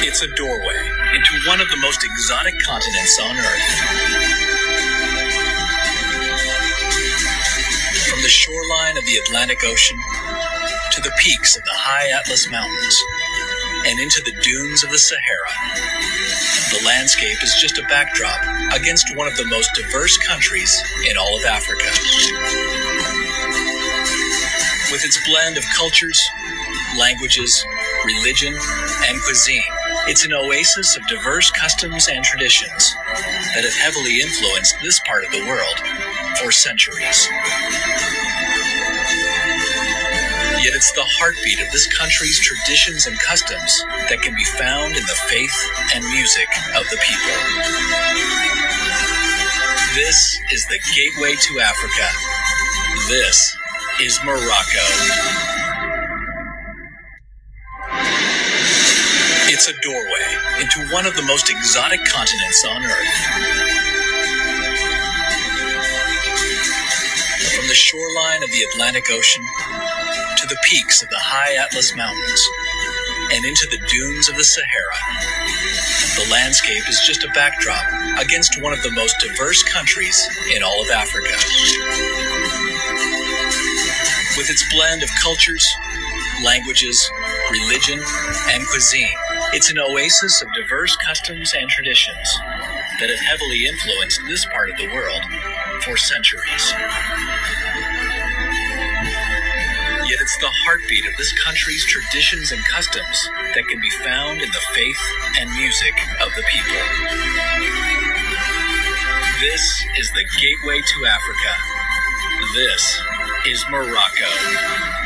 It's a doorway into one of the most exotic continents on Earth. From the shoreline of the Atlantic Ocean to the peaks of the high Atlas Mountains and into the dunes of the Sahara, the landscape is just a backdrop against one of the most diverse countries in all of Africa. With its blend of cultures, languages, religion, and cuisine, it's an oasis of diverse customs and traditions that have heavily influenced this part of the world for centuries. Yet it's the heartbeat of this country's traditions and customs that can be found in the faith and music of the people. This is the gateway to Africa. This is Morocco. It's a doorway into one of the most exotic continents on Earth. From the shoreline of the Atlantic Ocean to the peaks of the high Atlas Mountains and into the dunes of the Sahara, the landscape is just a backdrop against one of the most diverse countries in all of Africa. With its blend of cultures, languages, religion, and cuisine, it's an oasis of diverse customs and traditions that have heavily influenced this part of the world for centuries. Yet it's the heartbeat of this country's traditions and customs that can be found in the faith and music of the people. This is the gateway to Africa. This is Morocco.